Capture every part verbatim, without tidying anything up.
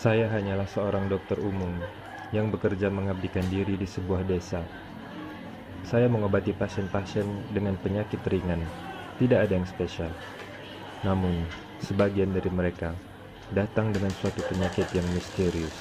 Saya hanyalah seorang dokter umum yang bekerja mengabdikan diri di sebuah desa. Saya mengobati pasien-pasien dengan penyakit ringan, tidak ada yang spesial. Namun, sebagian dari mereka datang dengan suatu penyakit yang misterius.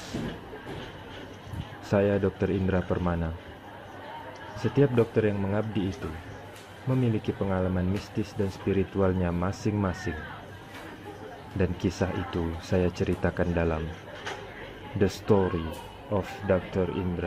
Saya dokter Indra Permana. Setiap dokter yang mengabdi itu memiliki pengalaman mistis dan spiritualnya masing-masing. Dan kisah itu saya ceritakan dalam The Story of dokter Indra.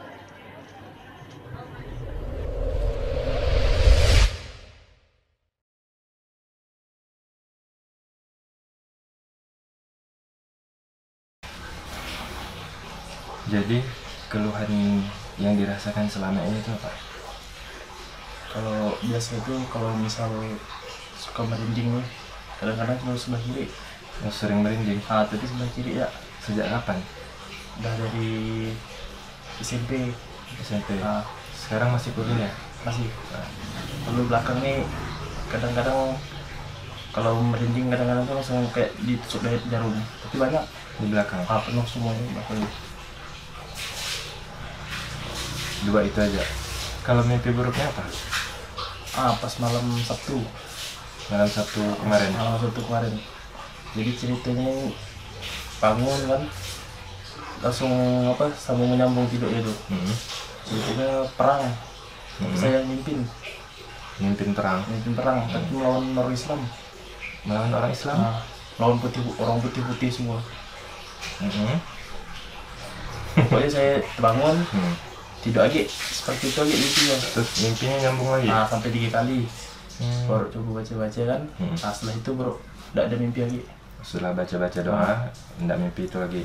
Jadi keluhan yang dirasakan selama ini itu apa? Kalau biasa itu kalau misal suka merinding nih, kadang-kadang kalau sebelah kiri. Yang sering merinding? Ah, tapi sebelah kiri ya. Sejak kapan? Udah dari S M P. S M P. Ah, Sekarang masih kuliah? masih. Nah, lalu belakang nih kadang-kadang kalau merinding kadang-kadang tuh langsung kayak ditusuk dari jarum. Tapi banyak. Di belakang? Ah, penuh semuanya belakang. Dua itu aja. Kalau mimpi buruknya apa? Ah, pas malam Sabtu. Malam Sabtu kemarin? Malam Sabtu kemarin. Jadi ceritanya bangun kan, langsung apa sambung menyambung tidur itu. Hmm. Ceritanya perang. Hmm. Saya mimpin, Mimpin perang? mimpin perang, tapi melawan orang Islam. Melawan orang Islam? Nah, melawan putih orang putih-putih semua. Hmm. Pokoknya saya bangun, Hmm. tidur lagi seperti itu lagi gitu ya. Terus mimpinya nyambung lagi? Nah, sampai tiga kali. Hmm. Baru coba baca-baca kan. Hmm. Nah, setelah itu baru tidak ada mimpi lagi. Setelah baca-baca doa, enggak mimpi itu lagi.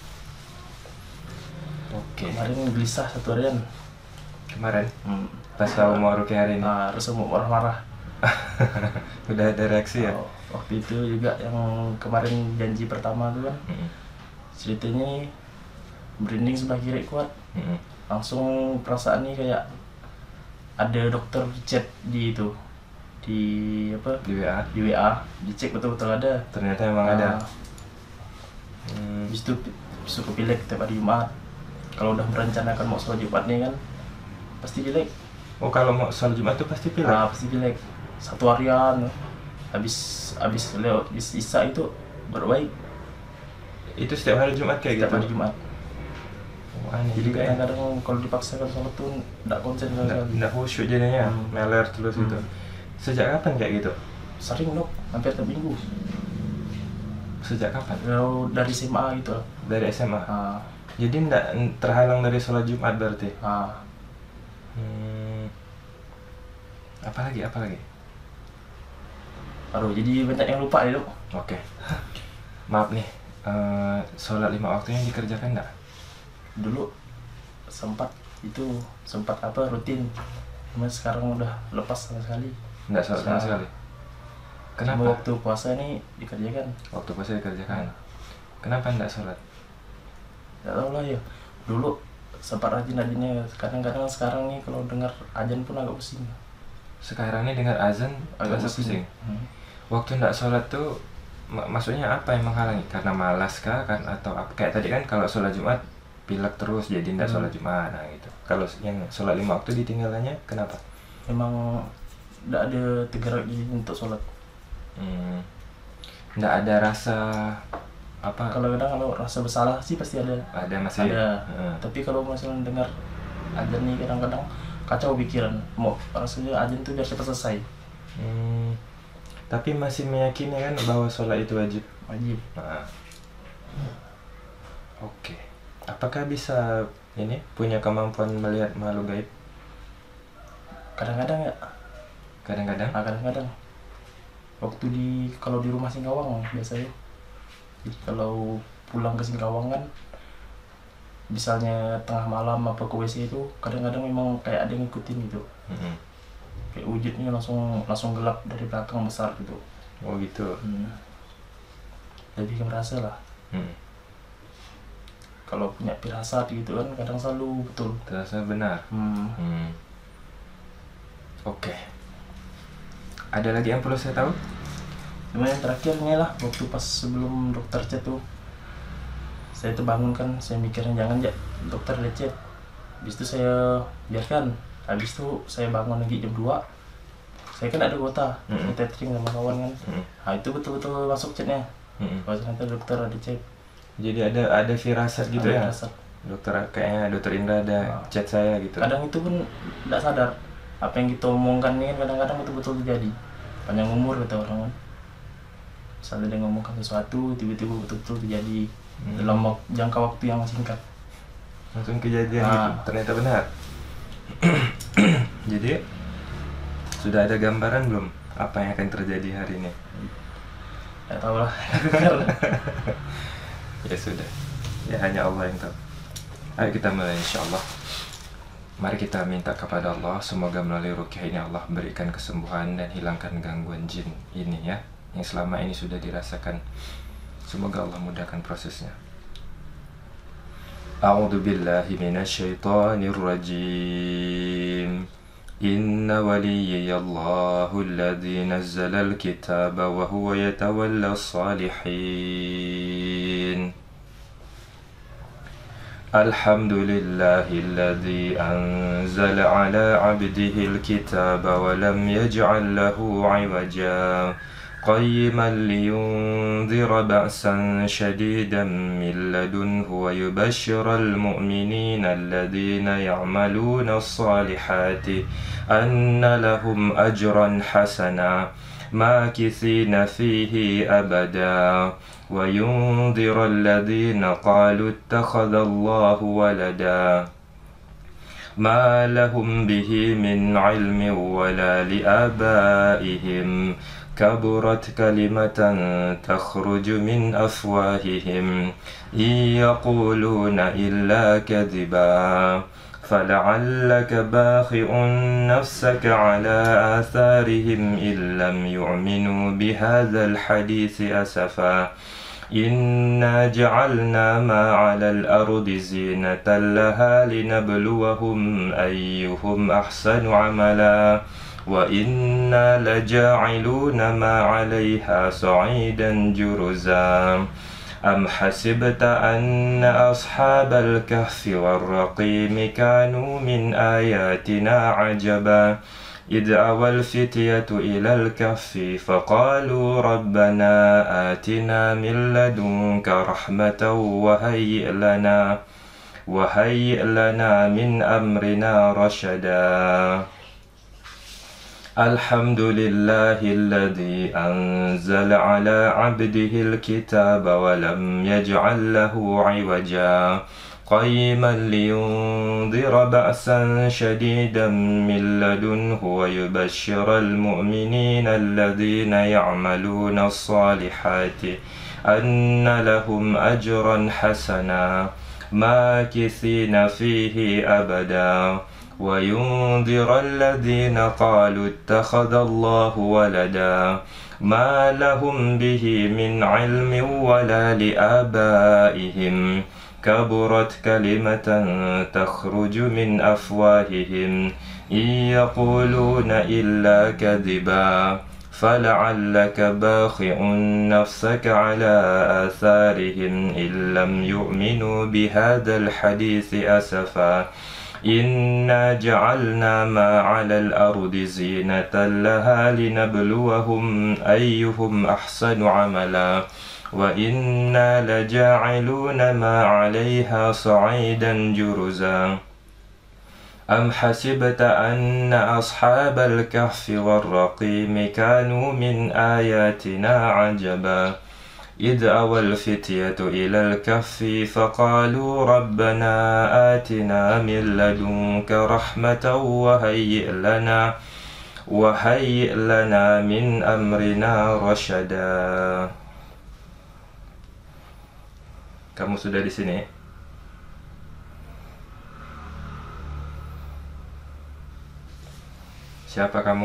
Oke. Kemarin gelisah satu harian. Kemarin? Hmm. Pas tahu mau rukyah hari ini? Nah, terus mau marah-marah. Udah ada reaksi ya? Oh, waktu itu juga yang kemarin janji pertama tuh kan, Hmm. ceritanya merinding sebelah kiri kuat. Hmm. Langsung perasaan nih kayak ada dokter chat di itu, di apa, Di W A? di W A, dicek betul-betul ada. Ternyata emang ada. Nah, Hmm. habis itu suka pilek tiap hari Jumat. Kalau udah merencanakan mau sholat Jumat nih kan, pasti pilek. Oh, kalau mau sholat Jumat tuh pasti pilek? Nah, pasti pilek satu harian. Habis habis lewat habis Isya itu baru baik. Itu setiap hari Jumat kayak Setiap gitu? hari Jumat. Oh, aneh Jadi juga ya. kadang-kadang kalau dipaksakan sholat tuh nggak konsen sama Nggak, sekali. nggak khusyuk jadinya, Hmm. meler terus Hmm. gitu. Sejak kapan kayak gitu? Sering dok, hampir tiap minggu. Sejak kapan? Kalau dari S M A gitu lah. Dari S M A? Ah, Jadi nggak terhalang dari sholat Jumat berarti? ah. Hmm. Apalagi, apalagi? Aduh, jadi banyak yang lupa ya dok. Oke. Maaf nih, eh, sholat lima waktu yang dikerjakan nggak? Dulu sempat itu sempat apa rutin, cuma sekarang udah lepas sama sekali. Nggak sholat sama Nah. sekali? Cuma Kenapa? waktu puasa ini dikerjakan. Waktu puasa dikerjakan? Kenapa nggak sholat? Gak tau lah ya. Dulu sempat rajin-rajinnya. Kadang-kadang sekarang nih kalau dengar azan pun agak pusing. Sekarang ini dengar azan, Agak rasa pusing. pusing. Hmm. Waktu nggak sholat tuh mak- maksudnya apa yang menghalangi? Karena malas kah? Kan atau apa? Kayak tadi kan kalau sholat Jumat pilek terus jadi nggak Hmm. sholat Jumat, nah gitu. Kalau yang sholat lima waktu ditinggalannya kenapa? Memang tidak ada tergerak diri untuk sholat. Hmm. Nggak ada rasa apa? Kalau kadang kalau rasa bersalah sih pasti ada. Ada masih. Ada. Heeh. Tapi kalau misalnya dengar azan nih kadang-kadang kacau pikiran. Mau rasanya azan tuh biar cepat selesai. Hmm. Tapi masih meyakini kan bahwa sholat itu wajib. Wajib. Nah. Oke. Apakah bisa ini punya kemampuan melihat makhluk gaib? Kadang-kadang ya. Kadang-kadang. Nah, kadang-kadang. Waktu di kalau di rumah Singkawang biasanya. Jadi kalau pulang ke Singkawang kan, misalnya tengah malam apa ke W C itu kadang-kadang memang kayak ada yang ngikutin gitu. Mm-mm. Kayak wujudnya langsung langsung gelap dari belakang besar gitu. Oh gitu. Hmm. Lebih ke merasa lah. Hmm. Kalau punya firasat gitu kan kadang selalu betul. Terasa benar. Hmm. Hmm. Oke. Ada lagi yang perlu saya tahu? Cuma yang terakhirnya lah waktu pas sebelum dokter chat tuh saya tuh bangun kan, saya mikirnya jangan ya dokter lecet. Habis itu saya biarkan. Habis itu saya bangun lagi jam dua. Saya kan ada kuota, Mm-mm. saya tethering sama kawan kan. Mm-mm. Nah itu betul-betul masuk chatnya. Mm-mm. Kalau ternyata dokter ada chat. Jadi ada ada firasat gitu ya. Ada rasa. Dokter kayaknya dokter Indra ada Ah. chat saya gitu. Kadang itu pun tidak sadar apa yang kita omongkan ini kan kadang-kadang betul-betul terjadi. Panjang umur kata orang kan. Misalnya dia ngomongkan sesuatu tiba-tiba betul-betul terjadi Hmm. dalam wak- jangka waktu yang singkat. Langsung kejadian Ah. gitu. Ternyata benar. Jadi sudah ada gambaran belum apa yang akan terjadi hari ini? Tidak tahu lah. Ya sudah. Ya hanya Allah yang tahu. Ayo kita mulai insyaallah. Mari kita minta kepada Allah semoga melalui ruqyah ini Allah berikan kesembuhan dan hilangkan gangguan jin ini ya yang selama ini sudah dirasakan. Semoga Allah mudahkan prosesnya. A'udzu billahi minasyaitonir rajim. Inna waliyallahu alladzi nazzala al-kitaba wa huwa yatawalla as-salihin. Alhamdulillahilladzi anzala ala 'abdihi al-kitaba wa lam yaj'al lahu 'iwaja قيما لينذر بأسا شديدا من لدنه ويبشر المؤمنين الذين يعملون الصالحات أن لهم أجرا حسنا ماكثين فيه أبدا وينذر الذين قالوا اتخذ الله ولدا ما لهم به من علم ولا لآبائهم كبرت كلمة تخرج من أفواههم إن يقولون إلا كذبا فلعلك باخع نفسك على آثارهم إن لم يؤمنوا بهذا الحديث أسفا إنا جعلنا ما على الأرض زينة لها لنبلوهم أيهم أحسن عملا وإنا لجاعلون ما عليها صعيدا جرزا أم حسبت أن أصحاب الكهف والرقيم كانوا من آياتنا عجبا إذ أوى الفتية إلى الكهف فقالوا ربنا آتنا من لدنك رحمة وهيئ لنا وهيئ لنا من أمرنا رشدا الحمد لله الذي أنزل على عبده الكتاب ولم يجعل له عوجا قيما لينذر بأسا شديدا من لدنه ويبشر المؤمنين الذين يعملون الصالحات أن لهم أجرا حسنا ماكثين فيه أبدا وينذر الذين قالوا اتخذ الله ولدا ما لهم به من علم ولا لآبائهم كبرت كلمة تخرج من أفواههم إن يقولون إلا كذبا فلعلك باخع نفسك على آثارهم إن لم يؤمنوا بهذا الحديث أسفا إنا جعلنا ما على الأرض زينة لها لنبلوهم أيهم أحسن عملا وإنا لجاعلون ما عليها صعيدا جرزا أم حسبت أن أصحاب الكهف والرقيم كانوا من آياتنا عجبا إذ أوى الفتية إلى الكهف فقالوا ربنا آتنا من لدنك رحمة وهيئ لنا وهيئ لنا من أمرنا رشدا. Kamu sudah di sini? Siapa kamu?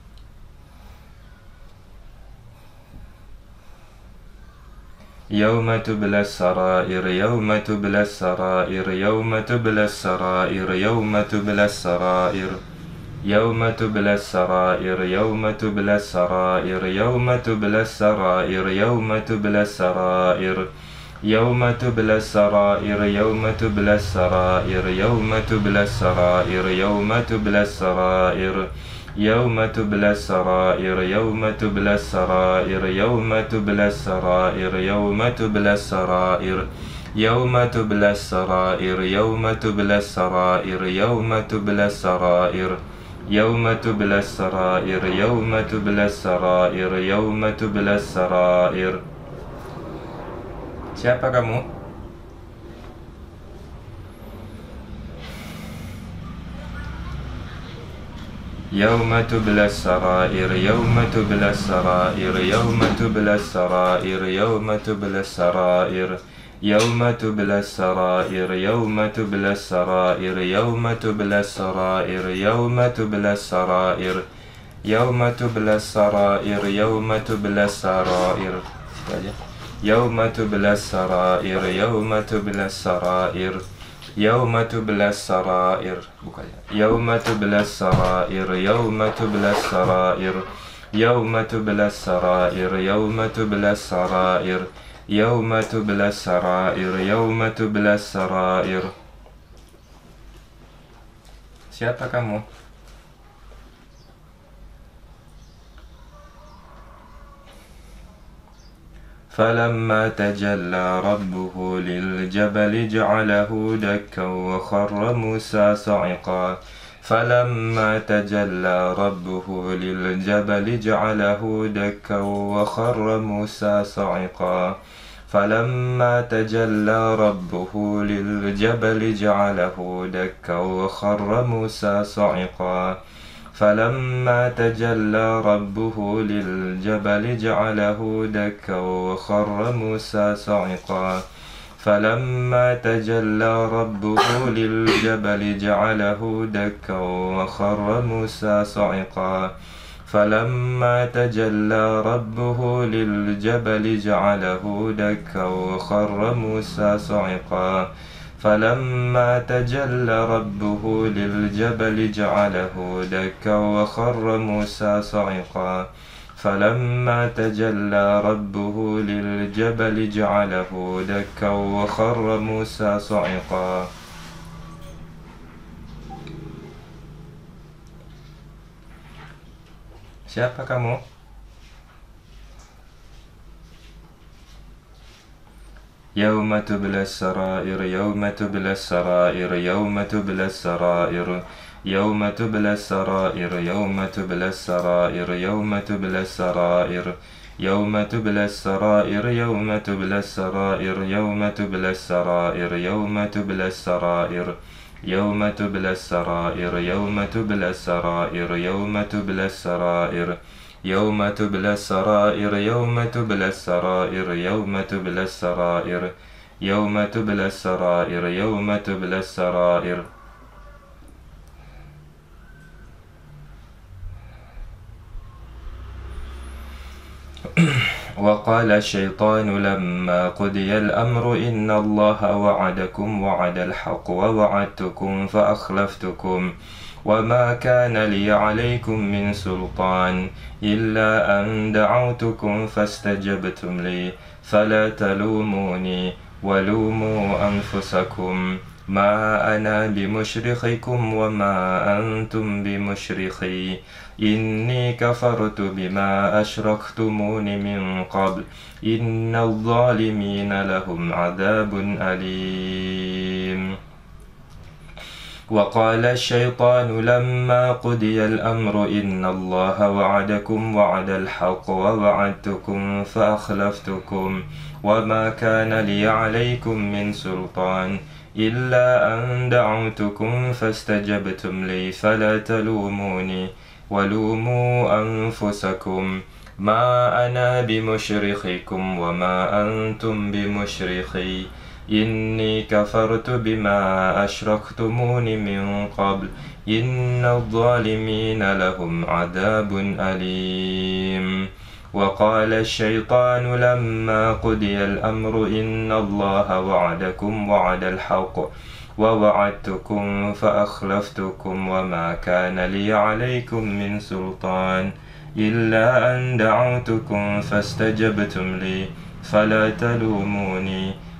يوم تبلى السرائر يوم تبلى السرائر يوم تبلى السرائر يوم تبلى السرائر يوم تبلى السرائر يوم تبلى السرائر يوم تبلى السرائر يوم تبلى السرائر يوم تبلى السرائر يوم تبلى السرائر يوم تبلى السرائر يوم تبلى السرائر يوم تبلى السرائر يوم تبلى السرائر يوم تبلى السرائر يوم تبلى السرائر يوم تبلى السرائر يوم تبلى السرائر يوم تبلى السرائر يوم تبلى السرائر يوم تبلى السرائر يوم تبلى السرائر. Siapa kamu? يوم تبلى السرائر يوم تبلى السرائر يوم تبلى السرائر يوم تبلى السرائر يوم تبلى السرائر يوم تبلى السرائر يوم تبلى السرائر يوم تبلى السرائر يوم تبلى السرائر يوم تبلى السرائر يوم تبلى السرائر يوم تبلى السرائر يوم تبلى السرائر يوم تبلى السرائر يوم تبلى السرائر يوم تبلى السرائر يوم تبلى السرائر يوم تبلى السرائر يوم تبلى السرائر. Siapa kamu? فلما تجلى ربه للجبل جعله دكا وخر موسى صعقا فلما تجلى ربه للجبل جعله دكا وخر موسى صعقا فلما تجلى ربه للجبل جعله دكا وخر موسى صعقا فلما تجلى ربه للجبل جعله دكا وخر موسى صعقا فلما تجلى ربه للجبل جعله دكا وخر موسى صعقا فلما تجلى ربه للجبل جعله دكا وخر موسى صعقا فلما تجلى ربه للجبل جعله دكا وخر موسى صعقا فلما تجلى ربه للجبل جعله دكا وخر موسى صعقا. Siapa kamu? يوم تبلى السرائر يوم تبلى السرائر يوم تبلى السرائر يوم تبلى السرائر يوم تبلى السرائر يوم تبلى السرائر يوم تبلى السرائر يوم تبلى السرائر يوم تبلى السرائر يوم تبلى السرائر يوم تبلى السرائر يوم تبلى السرائر يوم تبلى السرائر يوم تبلى السرائر يوم تبلى السرائر يوم تبلى السرائر يوم تبلى السرائر يوم تبلى السرائر. وقال الشيطان لما قضي الأمر إن الله وعدكم وعد الحق ووعدتكم فأخلفتكم وما كان لي عليكم من سلطان إلا أن دعوتكم فاستجبتم لي فلا تلوموني ولوموا أنفسكم ما أنا بمشرخكم وما أنتم بمشرخي إني كفرت بما أشركتمون من قبل إن الظالمين لهم عذاب أليم. وقال الشيطان لما قضي الأمر إن الله وعدكم وعد الحق ووعدتكم فأخلفتكم وما كان لي عليكم من سلطان إلا أن دعوتكم فاستجبتم لي فلا تلوموني ولوموا أنفسكم ما أنا بمشرخكم وما أنتم بمشرخي إني كفرت بما أشركتمون من قبل إن الظالمين لهم عذاب أليم. وقال الشيطان لما قضي الأمر إن الله وعدكم وعد الحق ووعدتكم فأخلفتكم وما كان لي عليكم من سلطان إلا أن دعوتكم فاستجبتم لي فلا تلوموني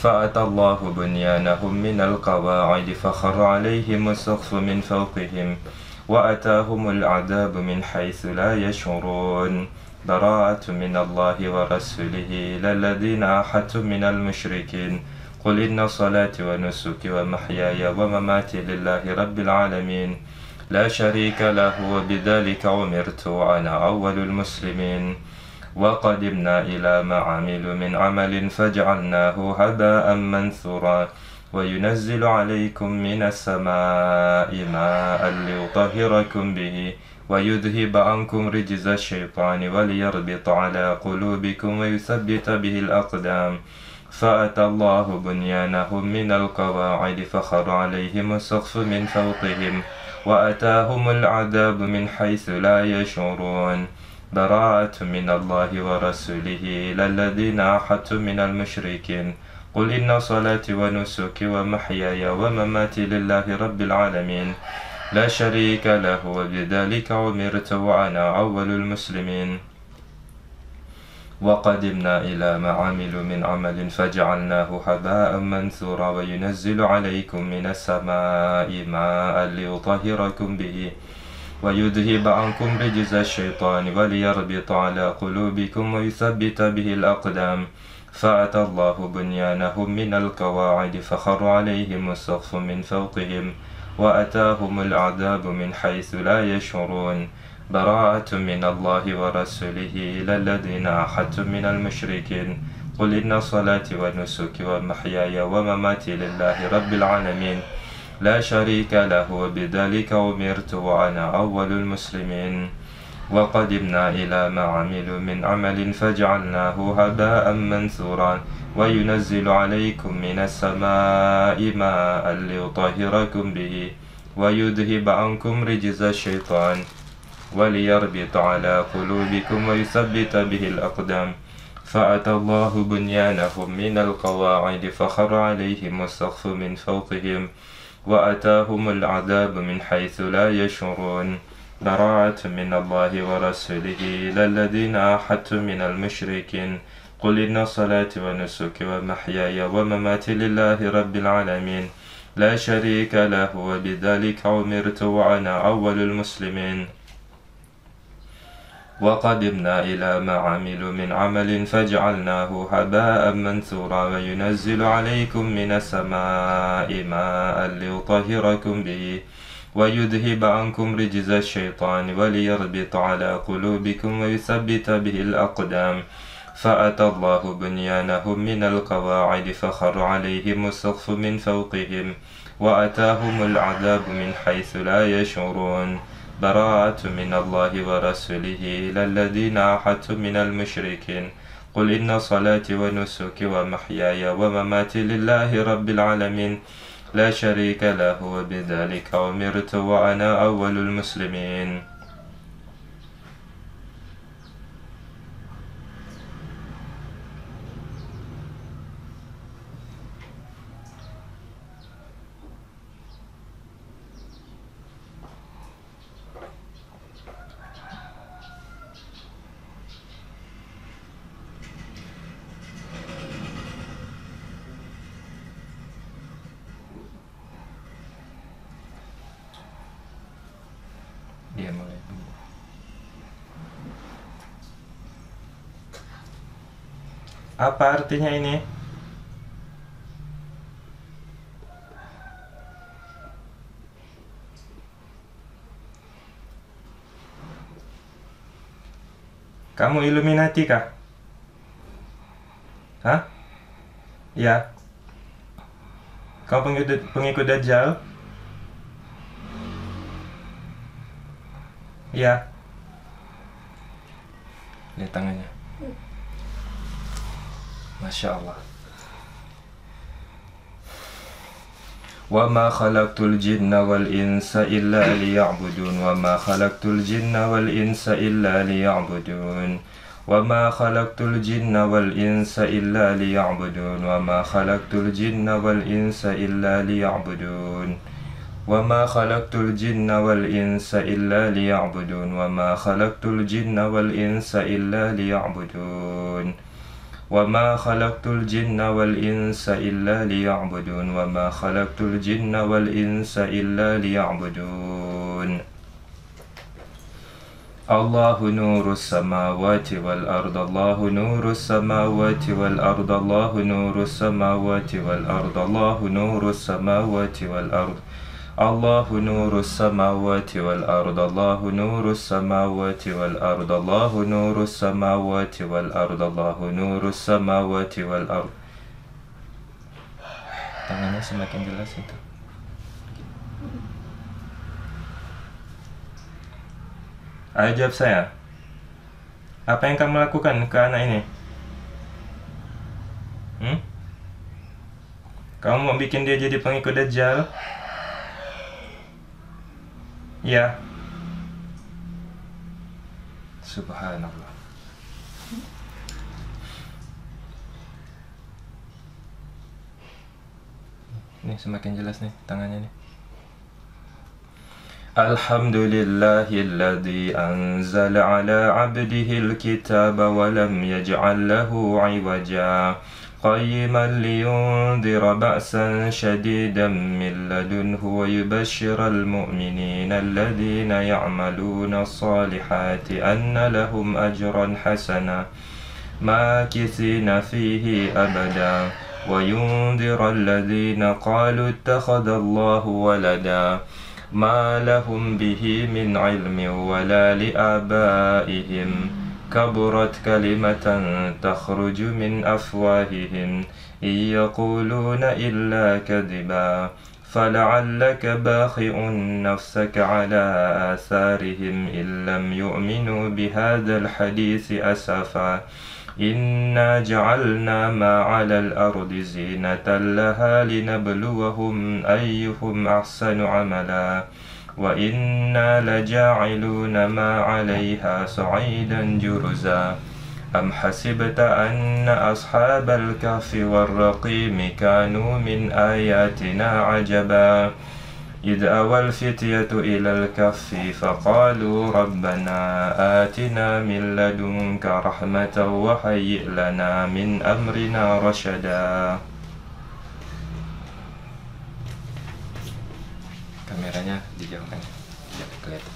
فأتى الله بنيانهم من القواعد فخر عليهم السقف من فوقهم وأتاهم العذاب من حيث لا يشعرون براءة من الله ورسوله إلى الذين عاهدتم من المشركين قل إن صلاتي ونسكي ومحياي ومماتي لله رب العالمين لا شريك له وبذلك أمرت وأنا أول المسلمين وقدمنا إلى ما عملوا من عمل فجعلناه هباء منثورا وينزل عليكم من السماء ماء ليطهركم به ويذهب عنكم رجز الشيطان وليربط على قلوبكم ويثبت به الأقدام فأتى الله بنيانهم من القواعد فخر عليهم السقف من فوقهم وأتاهم العذاب من حيث لا يشعرون براءة من الله ورسوله إلى الذين عاهدتم من المشركين قل إن صلاتي ونسكي ومحياي ومماتي لله رب العالمين لا شريك له وبذلك أمرت وأنا أول المسلمين وقدمنا إلى ما عملوا من عمل فجعلناه هباء منثورا وينزل عليكم من السماء ماء ليطهركم به ويذهب عنكم رجز الشيطان وليربط على قلوبكم ويثبت به الأقدام فأتى الله بنيانهم من القواعد فخر عليهم السقف من فوقهم وأتاهم العذاب من حيث لا يشعرون براءة من الله ورسوله إلى الذين عاهدتم من المشركين قل إن صلاتي ونسكي ومحياي ومماتي لله رب العالمين لا شريك له وبذلك أمرت وأنا أول المسلمين وقدمنا إلى ما عملوا من عمل فجعلناه هباء منثورا وينزل عليكم من السماء ماء ليطهركم به ويذهب عنكم رجز الشيطان وليربط على قلوبكم ويثبت به الأقدام فأتى الله بنيانهم من القواعد فخر عليهم السقف من فوقهم وأتاهم العذاب من حيث لا يشعرون براءة من الله ورسوله إلى الذين عاهدتم من المشركين قل إن صلاتي ونسكي ومحياي ومماتي لله رب العالمين لا شريك له وبذلك أمرت وأنا أول المسلمين وقدمنا إلى ما عملوا من عمل فجعلناه هباء منثورا وينزل عليكم من السماء ماء ليطهركم به ويذهب عنكم رجز الشيطان وليربط على قلوبكم ويثبت به الأقدام فأتى الله بنيانهم من القواعد فخر عليهم السقف من فوقهم وأتاهم العذاب من حيث لا يشعرون براءة من الله ورسوله إلى الذين عاهدتم من المشركين قل إن صلاتي ونسكي ومحياي ومماتي لله رب العالمين لا شريك له وبذلك أمرت وأنا أول المسلمين Dia mulai dulu. Apa artinya ini? Kamu Illuminati kah? Hah? Ya. Kau pengikut, pengikut Dajjal? Ya. Lihat tangannya. Masya Allah. وَمَا خَلَقْتُ الْجِنَّ وَالْإِنسَ إِلَّا لِيَعْبُدُونَ وَمَا خَلَقْتُ الْجِنَّ وَالْإِنسَ إِلَّا لِيَعْبُدُونَ وَمَا خَلَقْتُ الْجِنَّ وَالْإِنسَ إِلَّا لِيَعْبُدُونَ وَمَا خَلَقْتُ الْجِنَّ وَالْإِنسَ إِلَّا لِيَعْبُدُونَ وَمَا خَلَقْتُ الْجِنَّ وَالْإِنسَ إِلَّا لِيَعْبُدُونَ وَمَا خَلَقْتُ الْجِنَّ وَالْإِنسَ إِلَّا لِيَعْبُدُونَ وما خلقت الجن والإنس إلا ليعبدون وما خلقت الجن والإنس إلا ليعبدون الله نور السماوات والأرض الله نور السماوات والأرض الله نور السماوات والأرض الله نور السماوات والأرض الله نور السماوات والأرض الله نور السماوات والأرض الله نور السماوات والأرض الله نور السماوات والأرض. Tangannya semakin jelas itu. Ayo jawab saya. Apa yang kamu lakukan ke anak ini? Hmm? Kamu mau bikin dia jadi pengikut Dajjal? Ya. Subhanallah. Ini semakin jelas nih tangannya nih. Alhamdulillahilladzi anzala ala abdihil kitaba wa lam yaj'al lahu 'iwaja qayyiman liyundhira ba'san shadidan min ladunhu wa yubashshiral mu'minina alladhina ya'maluna as-salihati anna lahum ajran hasana makithina fihi abada wa yundhira alladhina qalu ittakhadallahu walada ما لهم به من علم ولا لآبائهم كبرت كلمة تخرج من أفواههم إن يقولون إلا كذبا فلعلك باخع نفسك على آثارهم إن لم يؤمنوا بهذا الحديث أسفا إنا جعلنا ما على الأرض زينة لها لنبلوهم أيهم أحسن عملا وإنا لجاعلون ما عليها صعيدا جرزا أم حسبت أن أصحاب الكهف والرقيم كانوا من آياتنا عجبا إذ أوى الفتية إلى الكهف فقالوا ربنا آتنا من لدنك رحمة وهيئ لنا من أمرنا رشدا. Kameranya dijauhkan, tidak kelihatan.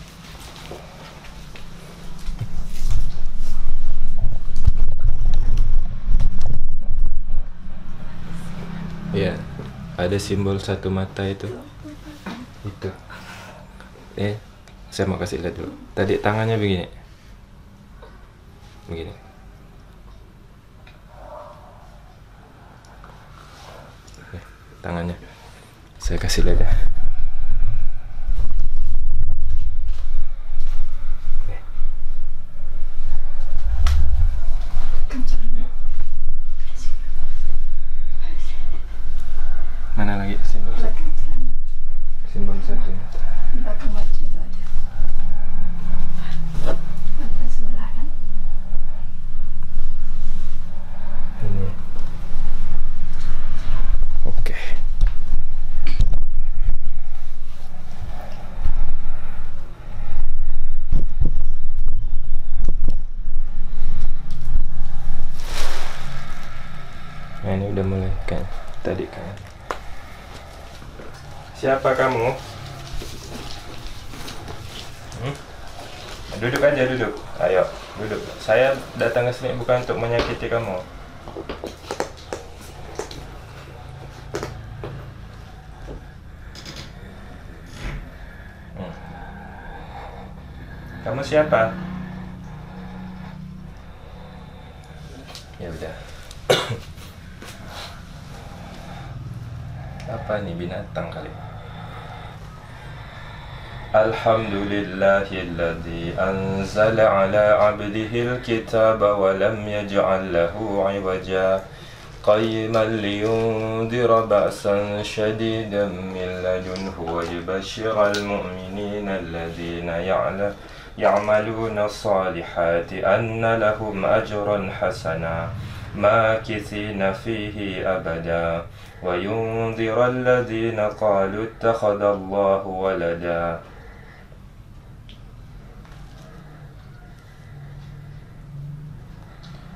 Ya, ada simbol satu mata itu. Itu. Eh, saya mau kasih lihat dulu. Tadi tangannya begini. Begini. Nih, tangannya. Saya kasih lihat ya. Nih. Mana lagi simbol satu? Simbol satu. Belakang wajah itu aja. Mata sebelah kan? Ini. Oke. Nah, ini udah mulai kan tadi kan. Siapa kamu? Hmm? Duduk aja, duduk. Ayo, duduk. Saya datang ke sini bukan untuk menyakiti kamu. Hmm. Kamu siapa? Ya udah. Apa nih, binatang kali? Alhamdulillahilladzi anzala ala abdihil kitaba wa lam yaj'al lahu 'iwaja qayyiman liyundhira ba'san shadidan min ladunhu wa yubashshiral mu'minina alladhina ya'maluna as-salihati anna lahum ajran hasana makithina fihi abada wa yundhira alladhina qalu ittakhadallahu walada.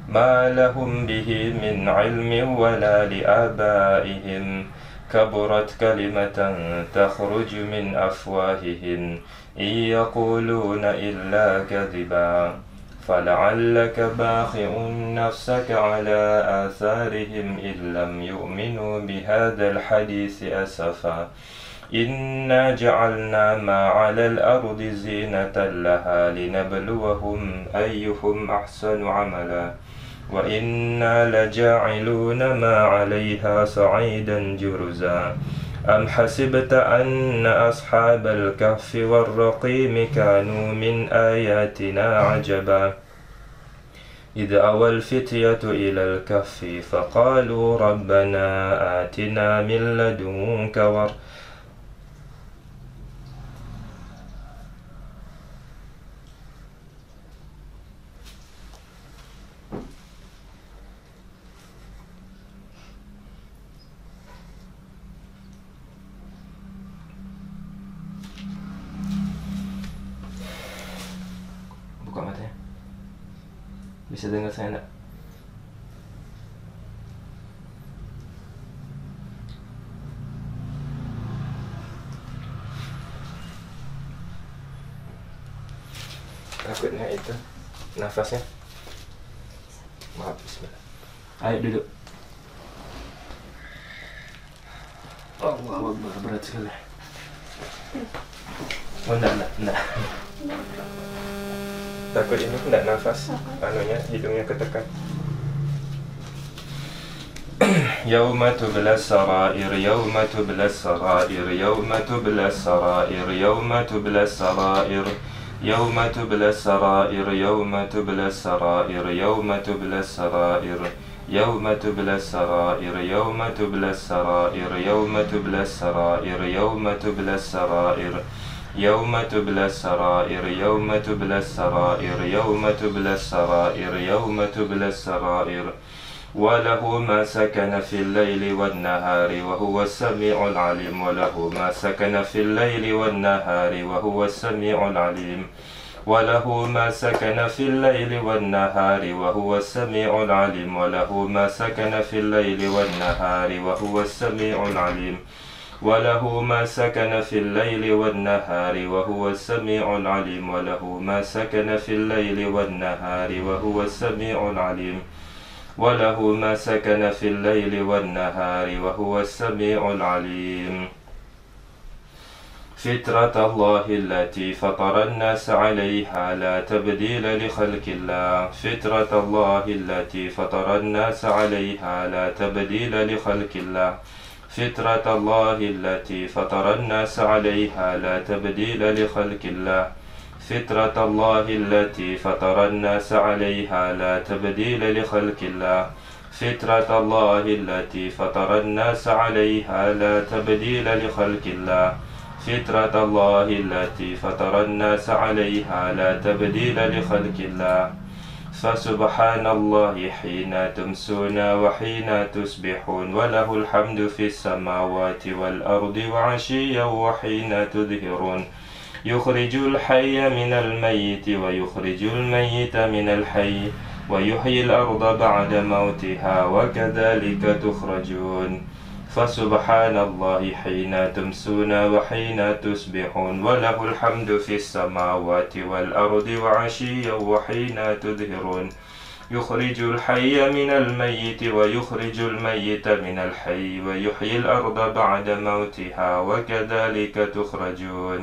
ما لهم به من علم ولا لآبائهم كبرت كلمة تخرج من أفواههم إن يقولون إلا كذبا فلعلك باخع نفسك على آثارهم إن لم يؤمنوا بهذا الحديث أسفا إنا جعلنا ما على الأرض زينة لها لنبلوهم أيهم أحسن عملا وإنا لجاعلون ما عليها صعيدا جرزا أم حسبت أن أصحاب الكهف والرقيم كانوا من آياتنا عجبا إذ أوى الفتية إلى الكهف فقالوا ربنا آتنا من لدنك ور Buka matanya. Bisa dengar saya enggak? Takutnya itu nafasnya. Maaf, bismillah. Ayo duduk. Allah Akbar, berat sekali. Oh enggak, enggak, enggak. Takut ini enggak nafas, anunya hidungnya ketekan. Yauma tublas sarair, yauma tublas sarair, yauma tublas sarair, yauma tublas sarair, yauma tublas sarair, yauma tublas sarair, yauma tublas sarair, yauma tublas sarair, yauma tublas sarair, yauma tublas sarair, yauma tublas sarair. يوم تبلى السرائر يوم تبلى السرائر يوم تبلى السرائر يوم تبلى السرائر وله ما سكن في الليل والنهار وهو السميع العليم وله ما سكن في الليل والنهار وهو السميع العليم وله ما سكن في الليل والنهار وهو السميع العليم وله ما سكن في الليل والنهار وهو السميع العليم وله ما سكن في الليل والنهار وهو السميع العليم وله ما سكن في الليل والنهار وهو السميع العليم وله ما سكن في الليل والنهار وهو السميع العليم فطرة الله التي فطر الناس عليها لا تبديل لخلق الله فطرة الله التي فطر الناس عليها لا تبديل لخلق الله فطرة الله التي فطر الناس عليها لا تبديل لخلق الله فطرة الله التي فطر الناس عليها لا تبديل لخلق الله فطرة الله التي فطر الناس عليها لا تبديل لخلق الله فطرة الله التي فطر الناس عليها لا تبديل لخلق الله فسبحان الله حين تمسون وحين تصبحون وله الحمد في السماوات والأرض وعشيا وحين تظهرون يخرج الحي من الميت ويخرج الميت من الحي ويحيي الأرض بعد موتها وكذلك تخرجون فسبحان الله حين تمسون وحين تصبحون وله الحمد في السماوات والأرض وعشيا وحين تظهرون يخرج الحي من الميت ويخرج الميت من الحي ويحيي الأرض بعد موتها وكذلك تخرجون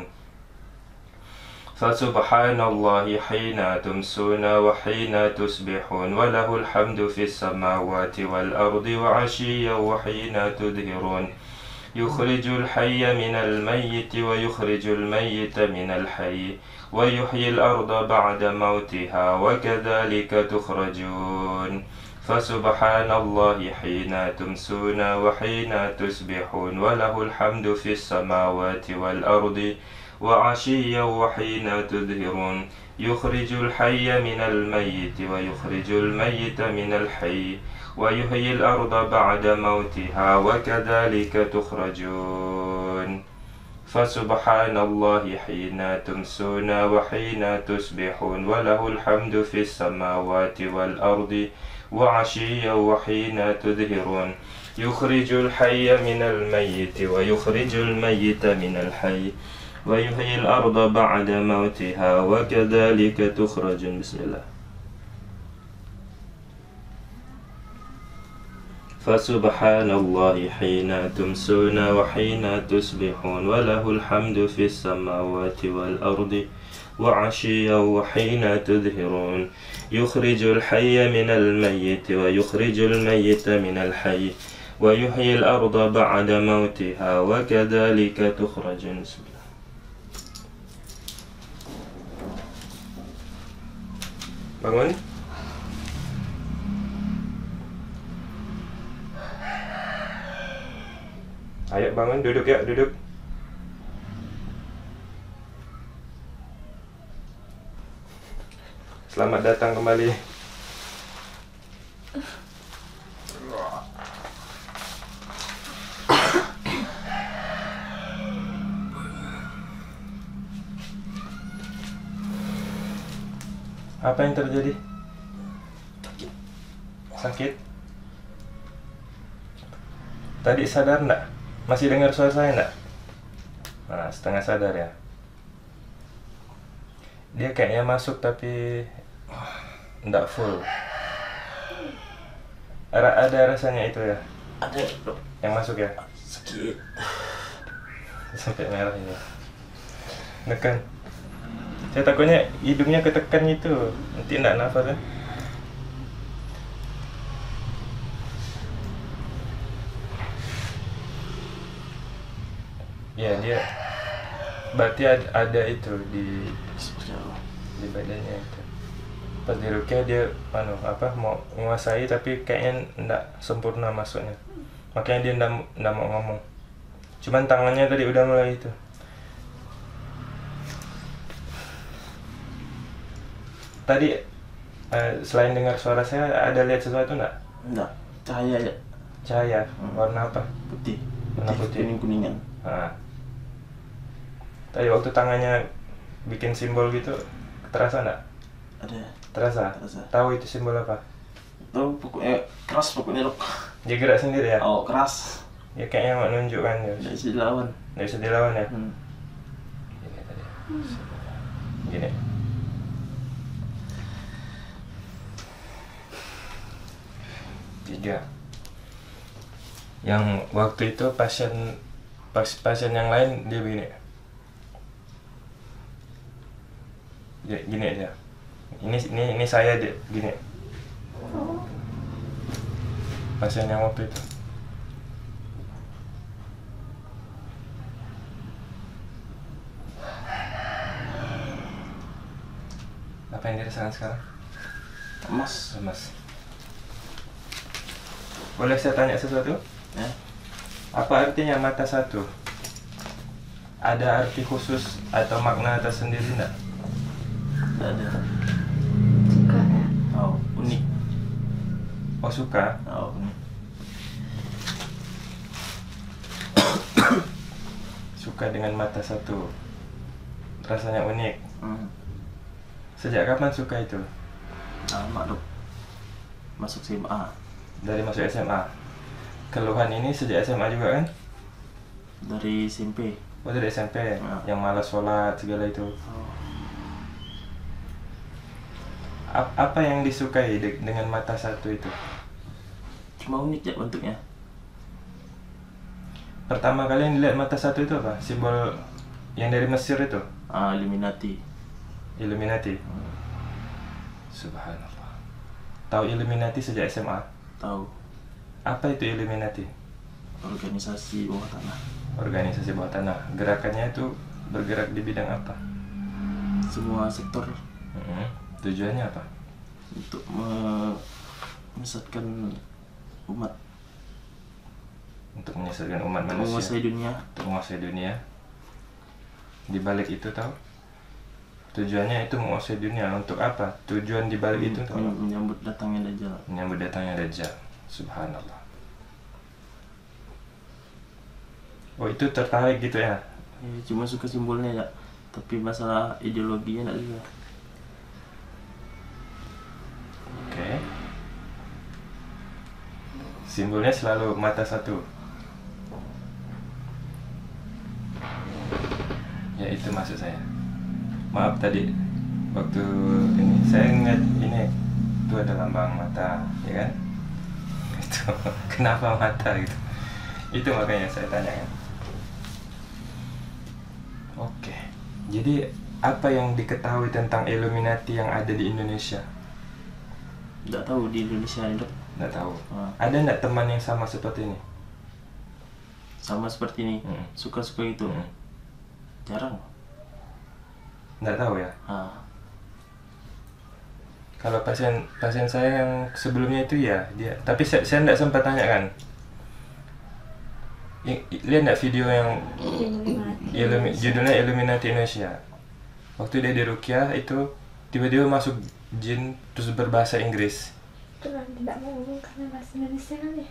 فسبحان الله حين تمسون وحين تصبحون وله الحمد في السماوات والأرض وعشيا وحين تظهرون يخرج الحي من الميت ويخرج الميت من الحي ويحيي الأرض بعد موتها وكذلك تخرجون فسبحان الله حين تمسون وحين تصبحون وله الحمد في السماوات والأرض وعشيا وحين تظهرون يخرج الحي من الميت ويخرج الميت من الحي ويحيي الأرض بعد موتها وكذلك تخرجون فسبحان الله حين تمسون وحين تصبحون وله الحمد في السماوات والأرض وعشيا وحين تظهرون يخرج الحي من الميت ويخرج الميت من الحي ويحيي الأرض بعد موتها وكذلك تخرجون. بسم الله. فسبحان الله حين تمسون وحين تصبحون وله الحمد في السماوات والأرض وعشيا وحين تظهرون يخرج الحي من الميت ويخرج الميت من الحي ويحيي الأرض بعد موتها وكذلك تخرجون. بسم الله. Bangun. Ayo bangun, duduk ya, duduk. Selamat datang kembali. Apa yang terjadi? Sakit. Sakit? Tadi sadar enggak? Masih dengar suara saya enggak? Nah, setengah sadar ya. Dia kayaknya masuk tapi enggak full. Ada, ada rasanya itu ya? Ada, dok. Yang masuk ya? Sakit. Sampai merah ini. Nekan. Saya takutnya hidungnya ketekan itu, nanti enggak nafas kan? Ya dia berarti ada, ada itu di di badannya itu. Pas di rukyah dia anu apa mau menguasai tapi kayaknya enggak sempurna masuknya. Makanya dia enggak, enggak mau ngomong. Cuman tangannya tadi udah mulai itu. Tadi eh, selain dengar suara saya ada lihat sesuatu enggak? Enggak, cahaya ya. Cahaya, Hmm. warna apa? Putih. Warna putih. Kuning kuningan. Nah. Tadi waktu tangannya bikin simbol gitu, terasa enggak? Ada. Terasa? Terasa. Tahu itu simbol apa? Tahu pokoknya keras pokoknya, dok. Dia gerak sendiri ya? Oh, keras. Ya kayaknya mau nunjukkan ya. Nggak bisa dilawan. Nggak bisa dilawan ya? Hmm. Gini tadi. Gini. Tiga. Yang waktu itu pasien pas, pasien yang lain dia begini. Dia, gini aja. Ini ini ini saya dia gini. Pasien yang waktu itu. Apa yang dirasakan sekarang? Emas. Lemas. Boleh saya tanya sesuatu? Ya. Apa artinya mata satu? Ada arti khusus atau makna tersendiri enggak? Nggak ada. Suka ya? Oh, unik. Oh suka? Oh, unik. Suka dengan mata satu. Rasanya unik. Hmm. Sejak kapan suka itu? Lama, dok. Masuk S M A. Dari masuk S M A. Keluhan ini sejak S M A juga kan? Dari S M P. Oh dari S M P, Ya. yang malas sholat segala itu. Oh. A- apa yang disukai de- dengan mata satu itu? Cuma unik ya bentuknya. Pertama kali yang dilihat mata satu itu apa? Simbol yang dari Mesir itu? Ah, Illuminati. Illuminati. Hmm. Subhanallah. Tahu Illuminati sejak S M A? Tahu. Apa itu Illuminati? Organisasi bawah tanah. Organisasi bawah tanah. Gerakannya itu bergerak di bidang apa? Semua sektor Mm-mm. Tujuannya apa? untuk me- menyesatkan umat, Untuk menyesatkan umat untuk manusia. menguasai dunia. Untuk menguasai dunia. Di balik itu tahu? Tujuannya itu menguasai dunia. Untuk apa? Tujuan di balik itu tahu? Men- menyambut datangnya Dajjal. Menyambut datangnya Dajjal. Subhanallah. Oh itu tertarik gitu ya? Ya, cuma suka simbolnya ya, tapi masalah ideologinya enggak juga. Oke. Simbolnya selalu mata satu. Ya itu maksud saya. Maaf tadi waktu ini saya ingat ini itu ada lambang mata, ya kan? Itu kenapa mata gitu? Itu makanya saya tanyakan. Oke. Jadi apa yang diketahui tentang Illuminati yang ada di Indonesia? Nggak tahu di Indonesia ini dok. Nggak tahu. Ah. Ada nggak teman yang sama seperti ini? Sama seperti ini, Hmm. suka-suka itu. Hmm. Jarang. Nggak tahu ya. Ah. Kalau pasien pasien saya yang sebelumnya itu ya dia, tapi saya saya nggak sempat tanya kan. I- i- Lihat nggak video yang Illumi, judulnya Illuminati Indonesia. Waktu dia di Ruqyah itu tiba-tiba masuk jin terus berbahasa Inggris. Itu kan tidak mau ngomong karena bahasa Indonesia kan ya.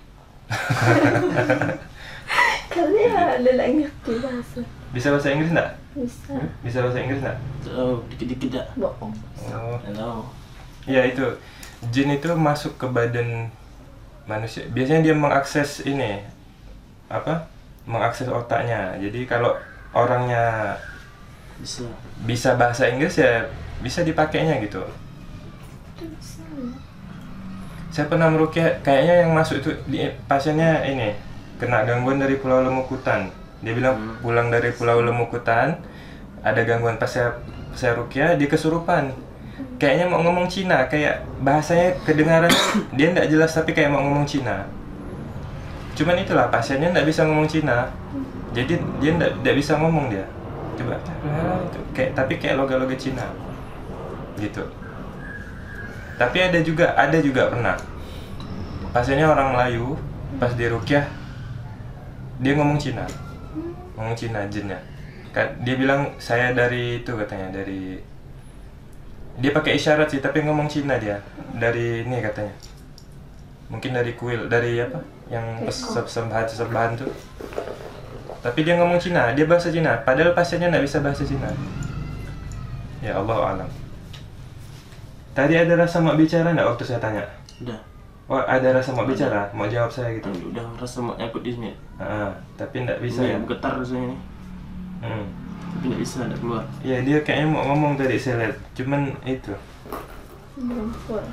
Karena ya ada yang ngerti bahasa. Bisa bahasa Inggris nggak? Bisa. Bisa bahasa Inggris nggak? Tahu dikit-dikit dah. Bohong. Oh, Nggak tahu. ya itu jin itu masuk ke badan manusia. Biasanya dia mengakses ini apa? Mengakses otaknya. Jadi kalau orangnya Bisa. bisa bahasa Inggris ya bisa dipakainya gitu. Itu bisa. Saya pernah meruqyah, kayaknya yang masuk itu di, pasiennya ini kena gangguan dari Pulau Lemukutan. Dia bilang Hmm. pulang dari Pulau Lemukutan ada gangguan, pas saya saya ruqyah dia kesurupan. Kayaknya mau ngomong Cina, kayak bahasanya kedengaran dia nggak jelas tapi kayak mau ngomong Cina. Cuman itulah pasiennya nggak bisa ngomong Cina, jadi dia nggak nggak bisa ngomong dia. Coba itu kayak tapi kayak loga-loga Cina gitu. Tapi ada juga ada juga pernah pasiennya orang Melayu, pas di ruqyah dia ngomong Cina, ngomong Cina jinnya. Ka- Dia bilang saya dari itu katanya dari dia pakai isyarat sih tapi ngomong Cina dia dari ini katanya. Mungkin dari kuil dari apa yang persembahan persembahan tuh. Tapi dia ngomong Cina, dia bahasa Cina. Padahal pasiennya nggak bisa bahasa Cina. Ya Allah alam. Tadi ada rasa mau bicara nggak waktu saya tanya? Udah. Oh ada rasa mau bicara, mau jawab saya gitu. Udah merasa mau nyangkut di sini. Ah, tapi nggak bisa ya. Ini getar rasanya nih. Hmm. Tapi nggak bisa, nggak keluar. Ya dia kayaknya mau ngomong tadi saya lihat, cuman itu. Belum full.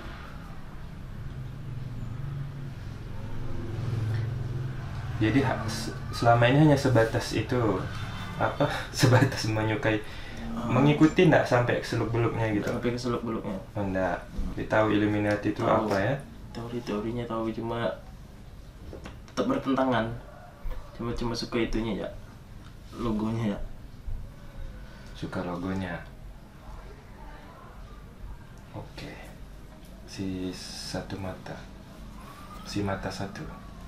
Jadi ha- se- selama ini hanya sebatas itu apa? Sebatas menyukai, mengikuti nggak sampai seluk-beluknya gitu. Sampai ke seluk beluknya. Oh, enggak. Dia tahu Illuminati itu Tahu. apa ya? Teori-teorinya tahu, cuma tetap bertentangan. Cuma cuma suka itunya ya, logonya ya. Suka logonya. Oke. Si satu mata. Si mata satu.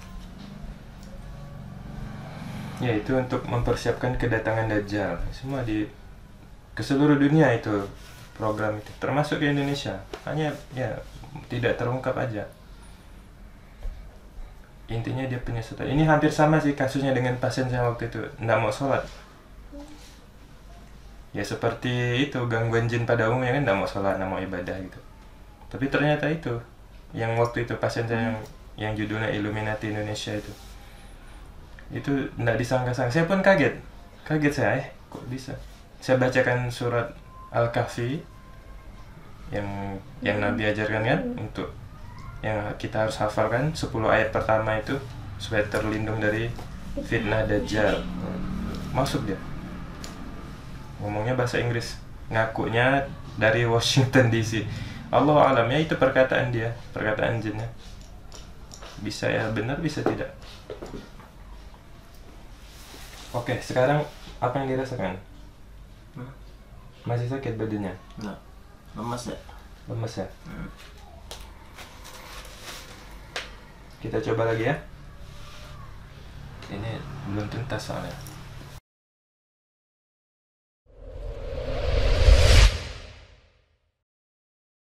Ya itu untuk mempersiapkan kedatangan Dajjal. Semua di ke seluruh dunia itu program itu, termasuk di Indonesia. Hanya ya tidak terungkap aja. Intinya dia penyesatan. Ini hampir sama sih kasusnya dengan pasien saya waktu itu, nggak mau sholat. Ya seperti itu gangguan jin pada umumnya kan, nggak mau sholat, nggak mau ibadah gitu. Tapi ternyata itu yang waktu itu pasien saya yang yang judulnya Illuminati Indonesia itu. Itu nggak disangka-sangka. Saya pun kaget. Kaget saya, eh kok bisa? Saya bacakan surat Al-Kahfi yang yang Nabi ajarkan kan, untuk yang kita harus hafalkan sepuluh ayat pertama itu supaya terlindung dari fitnah Dajjal. Masuk dia. Ngomongnya bahasa Inggris, ngakunya dari Washington D C. Allah alam ya, itu perkataan dia, perkataan jinnya. Bisa ya benar, bisa tidak. Oke, sekarang apa yang dirasakan? Hmm. Masih sakit badannya? Nggak, lemas ya. Lemes ya? Hmm. Kita coba lagi ya. Ini belum tuntas soalnya.